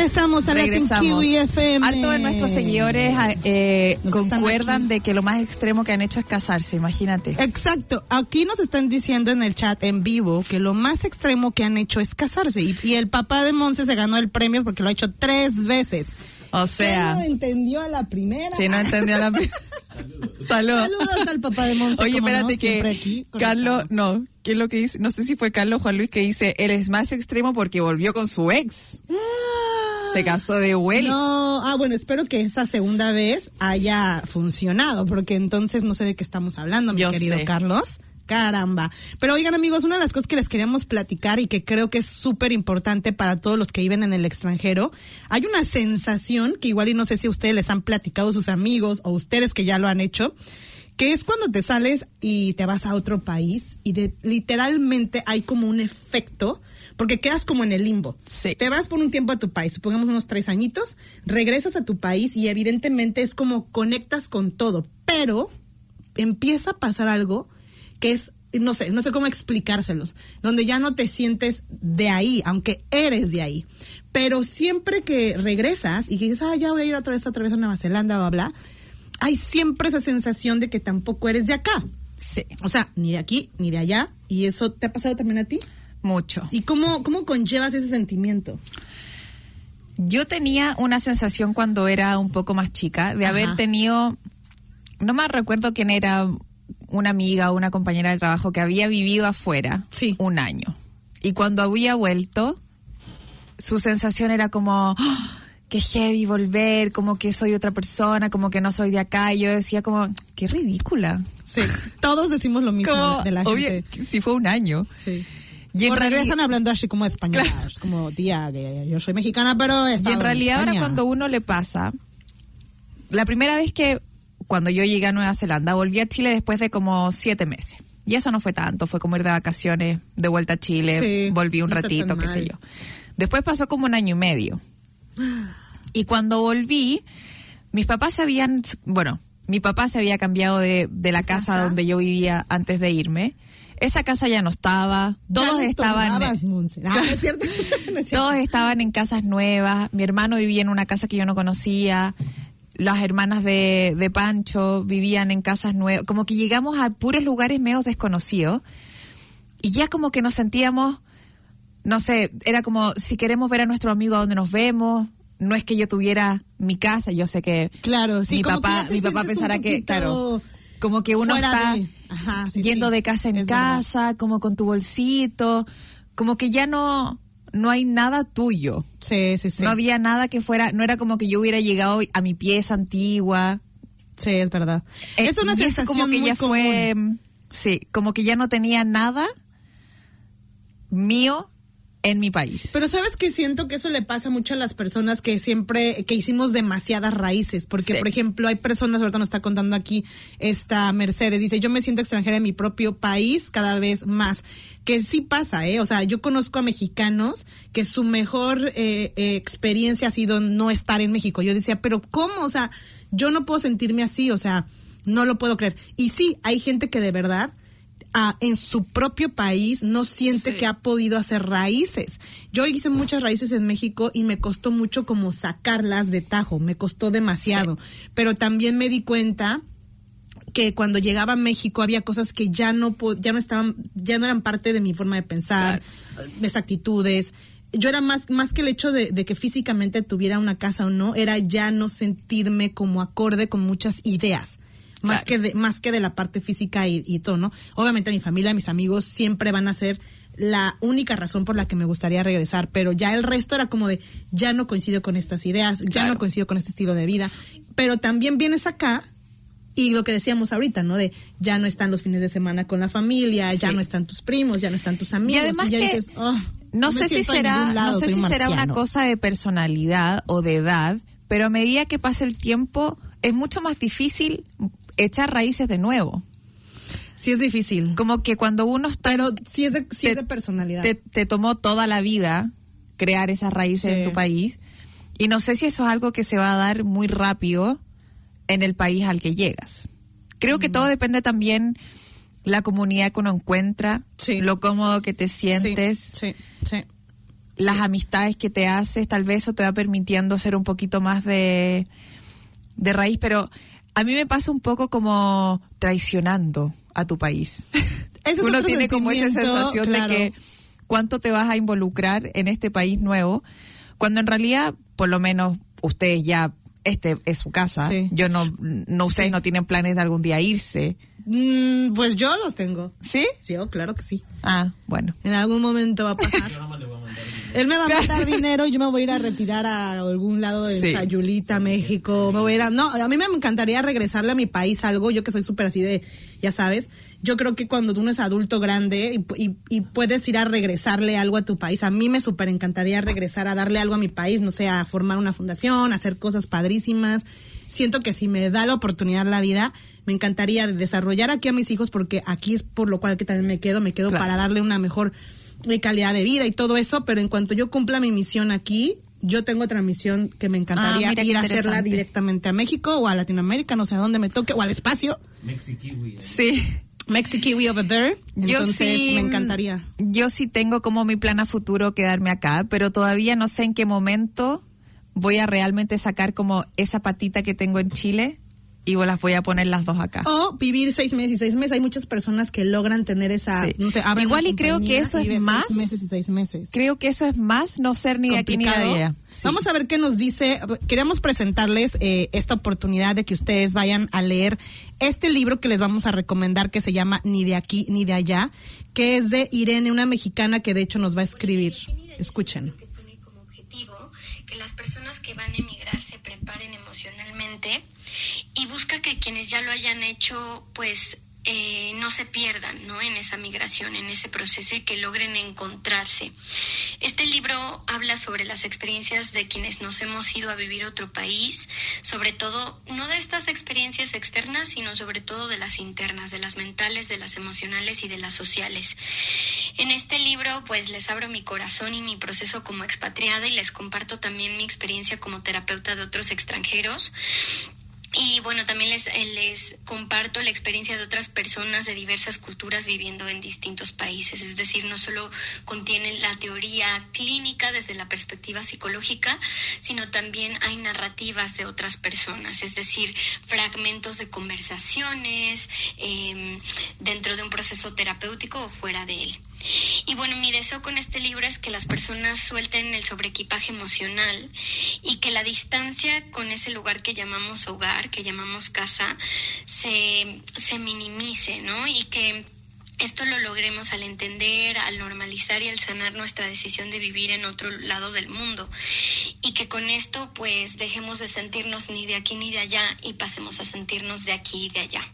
Regresamos a Latin Regresamos. Kiwi F M. Harto de nuestros seguidores eh, Nos están concuerdan aquí. de que lo más extremo que han hecho es casarse, imagínate. Exacto. Aquí nos están diciendo en el chat en vivo que lo más extremo que han hecho es casarse. Y, y el papá de Monse se ganó el premio porque lo ha hecho tres veces. O sea, ¿Quién no entendió a la primera? si no entendió la... Saludos. Saludos al papá de Monse. Oye, como espérate no, siempre que aquí, Carlos, conectado. no, ¿qué es lo que dice? No sé si fue Carlos o Juan Luis que dice, él es más extremo porque volvió con su ex. Se casó de vuelta. No, ah, bueno, espero que esa segunda vez haya funcionado, porque entonces no sé de qué estamos hablando, mi Yo querido sé. Carlos. Caramba. Pero oigan, amigos, una de las cosas que les queríamos platicar y que creo que es súper importante para todos los que viven en el extranjero, hay una sensación que igual y no sé si ustedes les han platicado sus amigos o ustedes que ya lo han hecho, que es cuando te sales y te vas a otro país y de, literalmente hay como un efecto, porque quedas como en el limbo. Sí. Te vas por un tiempo a tu país, supongamos unos tres añitos, regresas a tu país y evidentemente es como conectas con todo, pero empieza a pasar algo que es, no sé, no sé cómo explicárselos, donde ya no te sientes de ahí, aunque eres de ahí. Pero siempre que regresas y que dices, ah, ya voy a ir otra vez, otra vez a Nueva Zelanda, bla, bla, hay siempre esa sensación de que tampoco eres de acá. Sí, O sea, ni de aquí, ni de allá. ¿Y eso te ha pasado también a ti? mucho. ¿Y cómo, cómo conllevas ese sentimiento? Yo tenía una sensación cuando era un poco más chica de Ajá. haber tenido, no me recuerdo quién era, una amiga o una compañera de trabajo que había vivido afuera Sí. un año. Y cuando había vuelto, su sensación era como, ¡ah! Qué heavy volver, como que soy otra persona, como que no soy de acá. Y yo decía como, qué ridícula. Sí, todos decimos lo mismo Como, de la obvio, gente. si fue un año. Sí. Y en o regresan reali- hablando así como española, es como, tía, que yo soy mexicana, pero he Y estado en realidad ahora España. cuando uno le pasa, la primera vez que cuando yo llegué a Nueva Zelanda, volví a Chile después de como siete meses. Y eso no fue tanto, fue como ir de vacaciones, de vuelta a Chile, Sí, volví un no está ratito, tan qué mal. sé yo. Después pasó como un año y medio. Y cuando volví, mis papás se habían, bueno, mi papá se había cambiado de, de la casa, casa? donde yo vivía antes de irme. Esa casa ya no estaba, todos Ya les estaban... tomabas, Monse. Ah, ¿no es cierto? No es cierto. Todos estaban en casas nuevas. Mi hermano vivía en una casa que yo no conocía. Las hermanas de, de Pancho vivían en casas nuevas. Como que llegamos a puros lugares medio desconocidos. Y ya como que nos sentíamos, no sé, era como si queremos ver a nuestro amigo a donde nos vemos. No es que yo tuviera mi casa, yo sé que Claro, sí, mi como que papá, ya te mi papá sientes un pensará que, poquito claro, como que uno fuera está de- Ajá, sí, yendo sí, de casa en es verdad. casa, como con tu bolsito, como que ya no, no hay nada tuyo. Sí, sí, sí. No había nada que fuera, no era como que yo hubiera llegado a mi pieza antigua. Sí, es verdad. Eh, es una y eso sensación como que muy ya común. fue, sí, como que ya no tenía nada mío en mi país. Pero sabes que siento que eso le pasa mucho a las personas que siempre, que hicimos demasiadas raíces, porque Sí. por ejemplo hay personas, ahorita nos está contando aquí esta Mercedes, dice, yo me siento extranjera en mi propio país cada vez más, que sí pasa, ¿eh? O sea, yo conozco a mexicanos que su mejor eh, eh, experiencia ha sido no estar en México. Yo decía, pero ¿cómo? O sea, yo no puedo sentirme así, o sea, no lo puedo creer. Y sí, hay gente que de verdad Ah, en su propio país no siente Sí. que ha podido hacer raíces. Yo hice muchas raíces en México y me costó mucho como sacarlas de tajo, me costó demasiado. Pero también me di cuenta que cuando llegaba a México había cosas que ya no po- ya no estaban, ya no eran parte de mi forma de pensar, mis actitudes. Yo era más, más que el hecho de, de que físicamente tuviera una casa o no, era ya no sentirme como acorde con muchas ideas. Más, Claro. que de, más que de la parte física y, y todo, ¿no? Obviamente mi familia, mis amigos siempre van a ser la única razón por la que me gustaría regresar, pero ya el resto era como de, ya no coincido con estas ideas, ya Claro. no coincido con este estilo de vida, pero también vienes acá y lo que decíamos ahorita, ¿no? De ya no están los fines de semana con la familia, ya Sí. no están tus primos, ya no están tus amigos, Y además ya que dices, oh, no me sé si siento en será, ningún lado, no sé soy si un será una marciano. cosa de personalidad o de edad, pero a medida que pasa el tiempo es mucho más difícil echar raíces de nuevo. Sí es difícil, Como que cuando uno está, pero sí es de, sí te- es de personalidad. te, te tomó toda la vida crear esas raíces Sí. en tu país, y no sé si eso es algo que se va a dar muy rápido en el país al que llegas. Creo que todo depende también la comunidad que uno encuentra, Sí. lo cómodo que te sientes. Sí, sí, sí. las amistades que te haces, tal vez eso te va permitiendo ser un poquito más de, de raíz, pero a mí me pasa un poco como traicionando a tu país. Ese es Uno otro tiene como esa sentimiento, sensación claro. de que cuánto te vas a involucrar en este país nuevo, cuando en realidad, por lo menos, ustedes ya, este es su casa. Sí. Yo no, no ustedes Sí. no tienen planes de algún día irse. Mm, pues yo los tengo. ¿Sí? Sí, oh, claro que sí. Ah, bueno. En algún momento va a pasar. Él me va a mandar dinero y yo me voy a ir a retirar a algún lado de Sí. Sayulita, México. Me voy a ir a... No, a mí me encantaría regresarle a mi país algo. Yo que soy súper así de, ya sabes. Yo creo que cuando uno es adulto grande y, y, y puedes ir a regresarle algo a tu país, a mí me súper encantaría regresar a darle algo a mi país, no sé, a formar una fundación, a hacer cosas padrísimas. Siento que si me da la oportunidad la vida, me encantaría desarrollar aquí a mis hijos, porque aquí es por lo cual que también me quedo, me quedo Claro. para darle una mejor eh, calidad de vida y todo eso, pero en cuanto yo cumpla mi misión aquí, yo tengo otra misión que me encantaría Ah, mira qué ir a hacerla interesante. directamente a México o a Latinoamérica, no sé a dónde me toque, o al espacio. Sí. Mexikiwi over there. Yo Entonces sí, me encantaría. Yo sí tengo como mi plan a futuro quedarme acá, pero todavía no sé en qué momento voy a realmente sacar como esa patita que tengo en Chile y las voy a poner las dos acá. O vivir seis meses y seis meses. Hay muchas personas que logran tener esa, Sí. no sé, abren Igual una y creo compañía que eso y es vive más- seis meses y seis meses. Creo que eso es más no ser ni de aquí ni de Complicado. allá. Sí. Vamos a ver qué nos dice. Queremos presentarles eh, esta oportunidad de que ustedes vayan a leer este libro que les vamos a recomendar, que se llama Ni de aquí ni de allá, que es de Irene, una mexicana que de hecho nos va a escribir. Escuchen. Que tiene como objetivo que las personas que van a emigrar se preparen emocionalmente y busca que quienes ya lo hayan hecho, pues eh, no se pierdan, ¿no?, en esa migración, en ese proceso, y que logren encontrarse. Este libro habla sobre las experiencias de quienes nos hemos ido a vivir a otro país, sobre todo, no de estas experiencias externas, sino sobre todo de las internas, de las mentales, de las emocionales y de las sociales. En este libro, pues, les abro mi corazón y mi proceso como expatriada y les comparto también mi experiencia como terapeuta de otros extranjeros. Y bueno, también les, les comparto la experiencia de otras personas de diversas culturas viviendo en distintos países. Es decir, no solo contiene la teoría clínica desde la perspectiva psicológica, sino también hay narrativas de otras personas, es decir, fragmentos de conversaciones eh, dentro de un proceso terapéutico o fuera de él. Y bueno, mi deseo con este libro es que las personas suelten el sobreequipaje emocional y que la distancia con ese lugar que llamamos hogar, que llamamos casa, se, se minimice, ¿no? Y que esto lo logremos al entender, al normalizar y al sanar nuestra decisión de vivir en otro lado del mundo. Y que con esto, pues, dejemos de sentirnos ni de aquí ni de allá y pasemos a sentirnos de aquí y de allá.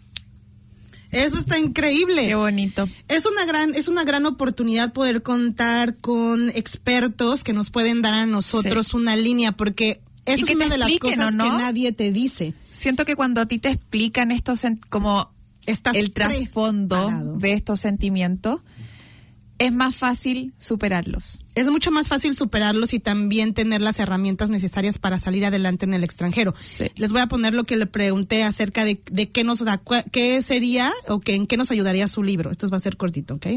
Eso está increíble. Qué bonito. Es una gran, es una gran oportunidad poder contar con expertos que nos pueden dar a nosotros Sí. una línea, porque eso Y es que una te de las expliquen, cosas ¿o no? que nadie te dice. Siento que cuando a ti te explican estos sen- como Estás el trasfondo preparado. de estos sentimientos, es más fácil superarlos. Es mucho más fácil superarlos y también tener las herramientas necesarias para salir adelante en el extranjero. Sí. Les voy a poner lo que le pregunté acerca de, de qué nos, o sea, cua- qué sería o que, en qué nos ayudaría su libro. Esto va a ser cortito, ¿ok?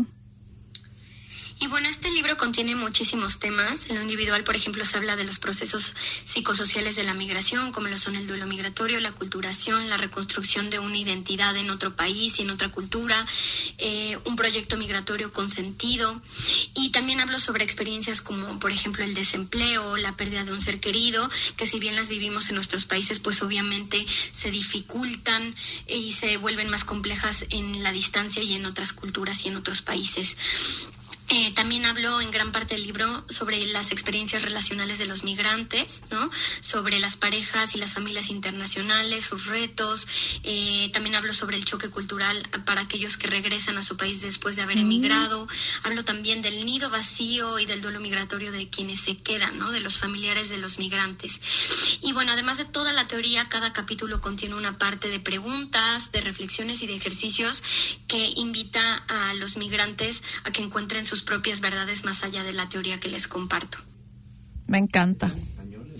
Y bueno, este libro contiene muchísimos temas. En lo individual, por ejemplo, se habla de los procesos psicosociales de la migración, como lo son el duelo migratorio, la aculturación, la reconstrucción de una identidad en otro país y en otra cultura, eh, un proyecto migratorio con sentido. Y también hablo sobre experiencias como, por ejemplo, el desempleo, la pérdida de un ser querido, que si bien las vivimos en nuestros países, pues obviamente se dificultan y se vuelven más complejas en la distancia y en otras culturas y en otros países. Eh, también hablo en gran parte del libro sobre las experiencias relacionales de los migrantes, ¿no? Sobre las parejas y las familias internacionales, sus retos. Eh, también hablo sobre el choque cultural para aquellos que regresan a su país después de haber emigrado. Hablo también del nido vacío y del duelo migratorio de quienes se quedan, ¿no? De los familiares de los migrantes. Y bueno, además de toda la teoría, cada capítulo contiene una parte de preguntas, de reflexiones y de ejercicios que invita a los migrantes a que encuentren sus propias verdades más allá de la teoría que les comparto. Me encanta.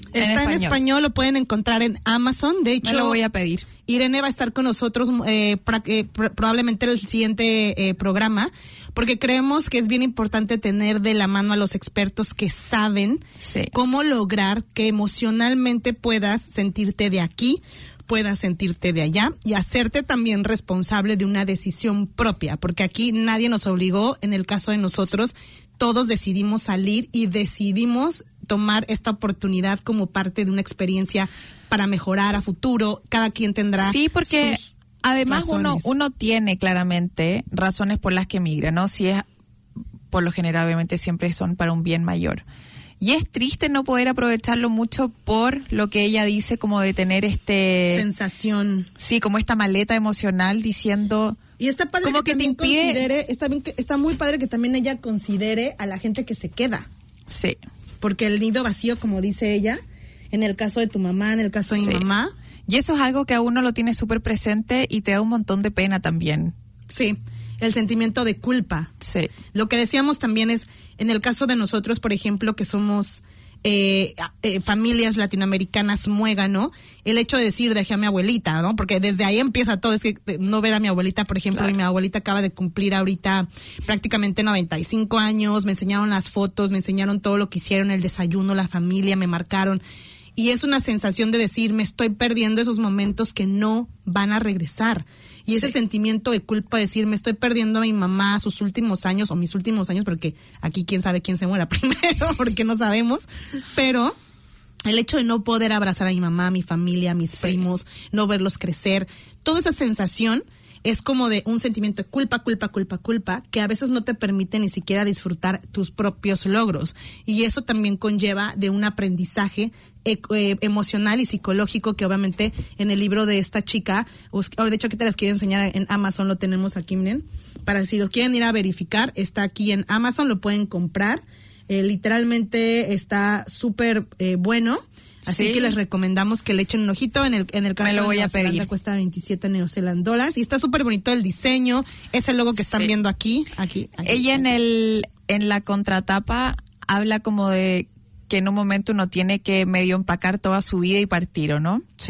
Está en español. en español, lo pueden encontrar en Amazon. De hecho, me lo voy a pedir. Irene va a estar con nosotros eh, pra, eh, pr- probablemente el siguiente eh, programa, porque creemos que es bien importante tener de la mano a los expertos que saben sí. cómo lograr que emocionalmente puedas sentirte de aquí, puedas sentirte de allá y hacerte también responsable de una decisión propia, porque aquí nadie nos obligó. En el caso de nosotros, todos decidimos salir y decidimos tomar esta oportunidad como parte de una experiencia para mejorar a futuro. Cada quien tendrá sí, porque sus además razones. uno uno tiene claramente razones por las que migra, ¿no? Si es, por lo general, obviamente siempre son para un bien mayor. Y es triste no poder aprovecharlo mucho por lo que ella dice, como de tener este... sensación. Sí, como esta maleta emocional diciendo... Y está padre como que, que te también impide... considere, está, bien, está muy padre que también ella considere a la gente que se queda. Sí. Porque el nido vacío, como dice ella, en el caso de tu mamá, en el caso de sí. mi mamá. Y eso es algo que a uno lo tiene súper presente y te da un montón de pena también. Sí, el sentimiento de culpa. Sí. Lo que decíamos también es, en el caso de nosotros, por ejemplo, que somos eh, eh, familias latinoamericanas muégano, el hecho de decir dejé a mi abuelita, ¿no? Porque desde ahí empieza todo, es que no ver a mi abuelita, por ejemplo, claro. y mi abuelita acaba de cumplir ahorita prácticamente noventa y cinco años, me enseñaron las fotos, me enseñaron todo lo que hicieron, el desayuno, la familia, me marcaron. Y es una sensación de decir, me estoy perdiendo esos momentos que no van a regresar. Y ese sí. sentimiento de culpa, decir, me estoy perdiendo a mi mamá sus últimos años, o mis últimos años, porque aquí quién sabe quién se muera primero, porque no sabemos. Pero el hecho de no poder abrazar a mi mamá, a mi familia, a mis sí. primos, no verlos crecer, toda esa sensación es como de un sentimiento de culpa, culpa, culpa, culpa, que a veces no te permite ni siquiera disfrutar tus propios logros. Y eso también conlleva de un aprendizaje eh, eh, emocional y psicológico que obviamente en el libro de esta chica, de hecho aquí te las quiero enseñar en Amazon, lo tenemos aquí, miren, para si los quieren ir a verificar, está aquí en Amazon, lo pueden comprar, eh, literalmente está súper eh, bueno. Así sí. que les recomendamos que le echen un ojito. En el, en el caso Me lo voy de a pedir. Cuesta veintisiete New Zealand dólares. Y está súper bonito el diseño. Ese logo que están sí. viendo aquí. aquí, aquí Ella aquí. en el en la contratapa habla como de que en un momento uno tiene que medio empacar toda su vida y partir, ¿o no? Sí.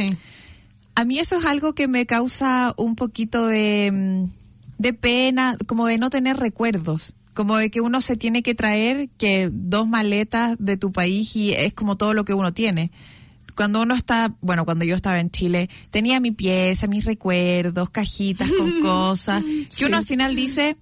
A mí eso es algo que me causa un poquito de, de pena, como de no tener recuerdos. Como de que uno se tiene que traer que dos maletas de tu país y es como todo lo que uno tiene. Cuando uno está, bueno, cuando yo estaba en Chile, tenía mi pieza, mis recuerdos, cajitas con cosas, que sí. uno al final dice,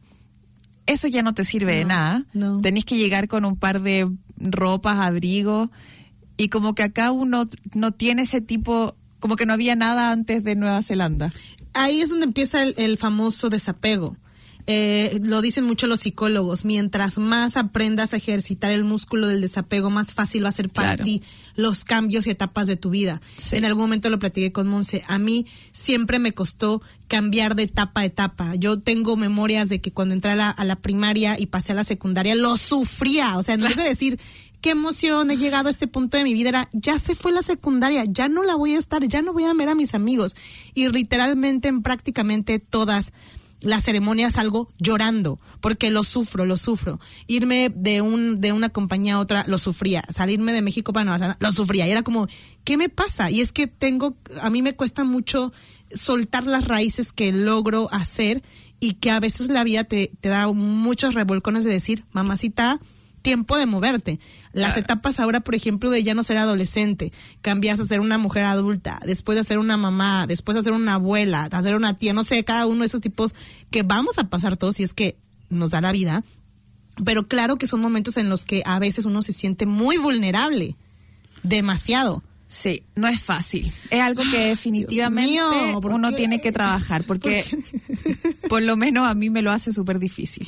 eso ya no te sirve no, de nada. No. Tenés que llegar con un par de ropas, abrigos, y como que acá uno no tiene ese tipo, como que no había nada antes de Nueva Zelanda. Ahí es donde empieza el, el famoso desapego. Eh, lo dicen mucho los psicólogos, mientras más aprendas a ejercitar el músculo del desapego, más fácil va a ser para claro. ti los cambios y etapas de tu vida. Sí. En algún momento lo platiqué con Monse, a mí siempre me costó cambiar de etapa a etapa. Yo tengo memorias de que cuando entré a la, a la primaria y pasé a la secundaria, lo sufría, o sea, en vez de decir qué emoción, he llegado a este punto de mi vida, era, ya se fue la secundaria, ya no la voy a estar, ya no voy a ver a mis amigos. Y literalmente en prácticamente todas las ceremonias salgo llorando, porque lo sufro, lo sufro. Irme de un de una compañía a otra, lo sufría. Salirme de México para Nueva Zelanda, lo sufría. Y era como, ¿qué me pasa? Y es que tengo, a mí me cuesta mucho soltar las raíces que logro hacer y que a veces la vida te, te da muchos revolcones de decir, mamacita, tiempo de moverte. Las claro. etapas ahora, por ejemplo, de ya no ser adolescente, cambias a ser una mujer adulta, después de ser una mamá, después de ser una abuela, de ser una tía, no sé, cada uno de esos tipos que vamos a pasar todos si es que nos da la vida. Pero claro que son momentos en los que a veces uno se siente muy vulnerable, demasiado. Sí, no es fácil. Es algo que definitivamente mío, ¿por uno qué? tiene que trabajar, porque ¿Por, por lo menos a mí me lo hace súper difícil.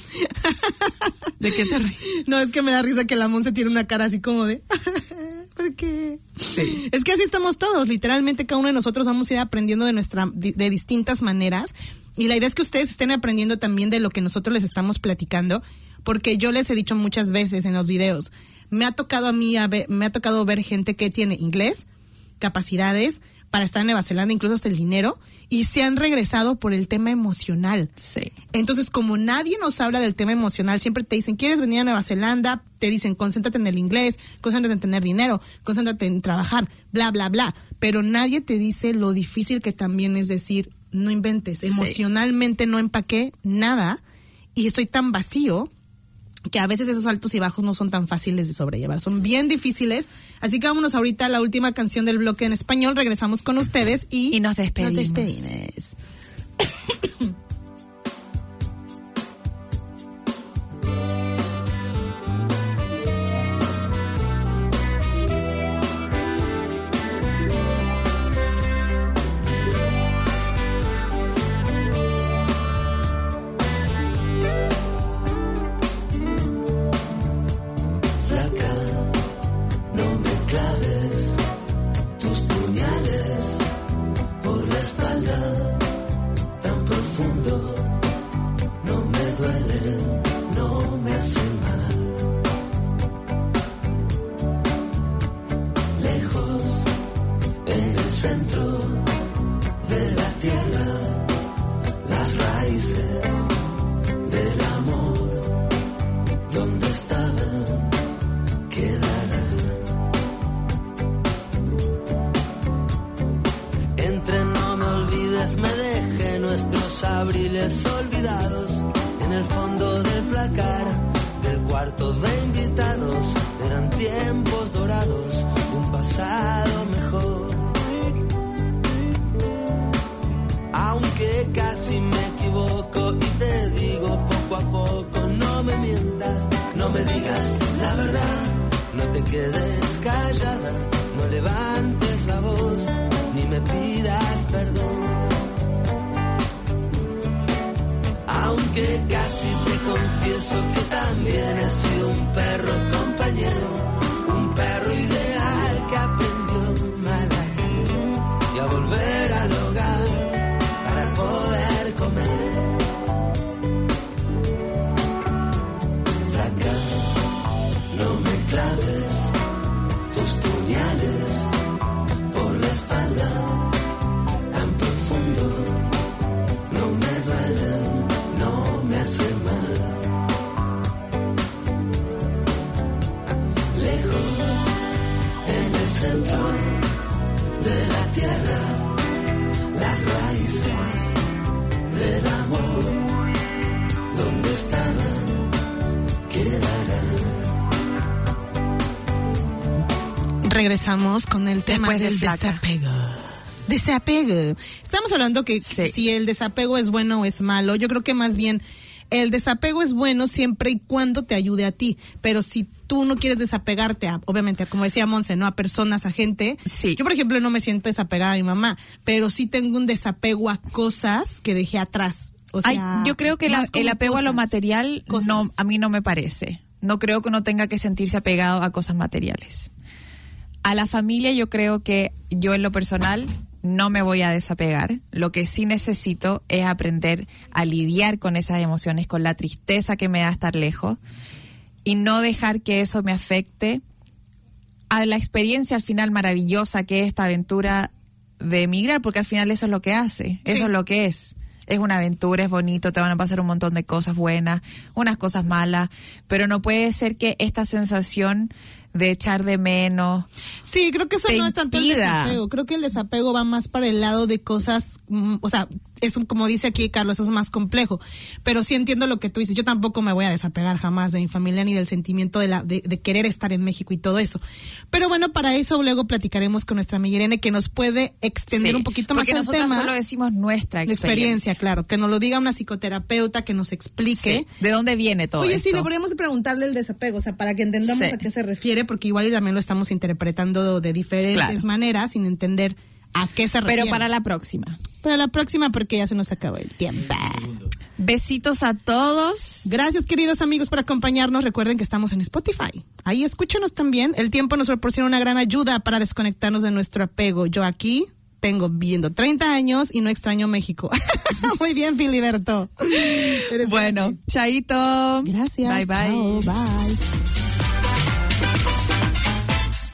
¿De qué te ríes? No, es que me da risa que la Monse tiene una cara así como de... ¿Por qué? Sí. Es que así estamos todos, literalmente cada uno de nosotros vamos a ir aprendiendo de nuestra de distintas maneras, y la idea es que ustedes estén aprendiendo también de lo que nosotros les estamos platicando, porque yo les he dicho muchas veces en los videos, me ha tocado a mí, a ver, me ha tocado ver gente que tiene inglés, capacidades para estar en Nueva Zelanda, incluso hasta el dinero, y se han regresado por el tema emocional. Sí. Entonces, como nadie nos habla del tema emocional, siempre te dicen, ¿quieres venir a Nueva Zelanda? Te dicen, concéntrate en el inglés, concéntrate en tener dinero, concéntrate en trabajar, bla, bla, bla. Pero nadie te dice lo difícil que también es decir, no inventes, Sí. emocionalmente no empaqué nada y estoy tan vacío que a veces esos altos y bajos no son tan fáciles de sobrellevar, son bien difíciles. Así que vámonos ahorita a la última canción del bloque en español, regresamos con ustedes y, Y nos despedimos. Nos despedimos. Flaca, no me claves tus puñales por la espalda tan profundo. No me duelen, no me hacen mal. Lejos, en el centro de la tierra, las raíces del amor, donde estaban, quedarán. Entre no me olvides, me dejé nuestros abriles olvidados en el fondo del placar del cuarto de invitados. Eran tiempos dorados de un pasado mejor. Aunque casi me equivoco y te digo poco a poco, no me mientas, no me digas la verdad, no te quedes callada, no levantes la voz, ni me pidas perdón. Aunque casi te confieso que también he sido un perro compañero, un perro ideal que aprendió mal a ir y a volver al hogar para poder comer. Flaca, no me claves tus puñales por la espalda tan profundo. No me duelen, no me hacen mal. Lejos, en el centro de la tierra, las raíces del amor, donde estaban, quedarán. Regresamos con el tema Después de del Flaca. desapego. Desapego. Estamos hablando que Sí. si el desapego es bueno o es malo. Yo creo que más bien el desapego es bueno siempre y cuando te ayude a ti. Pero si tú no quieres desapegarte, a, obviamente, como decía Monse, ¿no? A personas, a gente. Sí. Yo, por ejemplo, no me siento desapegada a mi mamá, pero sí tengo un desapego a cosas que dejé atrás. O sea, Ay, yo creo que la- más como el apego a lo cosas, material cosas. no, a mí no me parece. No creo que uno tenga que sentirse apegado a cosas materiales. A la familia yo creo que yo en lo personal no me voy a desapegar. Lo que sí necesito es aprender a lidiar con esas emociones, con la tristeza que me da estar lejos y no dejar que eso me afecte a la experiencia al final maravillosa que es esta aventura de emigrar, porque al final eso es lo que hace, eso Sí. es lo que es. Es una aventura, es bonito, te van a pasar un montón de cosas buenas, unas cosas malas, pero no puede ser que esta sensación de echar de menos. Sí, creo que eso te no es tanto el impida. desapego. Creo que el desapego va más para el lado de cosas, mm, o sea, es un- como dice aquí Carlos, es más complejo. Pero sí entiendo lo que tú dices. Yo tampoco me voy a desapegar jamás de mi familia ni del sentimiento de, la, de, de querer estar en México y todo eso. Pero bueno, para eso luego platicaremos con nuestra amiga Irene, que nos puede extender Sí, un poquito más porque el nosotros tema. solo decimos nuestra de experiencia. experiencia, claro. Que nos lo diga una psicoterapeuta, que nos explique. Sí. ¿De dónde viene todo Oye, esto? sí, deberíamos de preguntarle el desapego, o sea, para que entendamos Sí. a qué se refiere, porque igual y también lo estamos interpretando de diferentes Claro. maneras, sin entender a qué se refiere. Pero para la próxima. Para la próxima, porque ya se nos acabó el tiempo. Besitos a todos. Gracias, queridos amigos, por acompañarnos. Recuerden que estamos en Spotify. Ahí escúchenos también. El tiempo nos proporciona una gran ayuda para desconectarnos de nuestro apego. Yo aquí tengo viviendo treinta años y no extraño México. Muy bien, Filiberto. Eres Bueno, grande. chaito. Gracias. Bye, bye. Chao, bye.